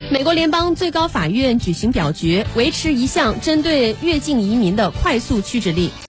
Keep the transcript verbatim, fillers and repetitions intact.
美国联邦最高法院举行表决，维持一项针对越境移民的快速驱逐令。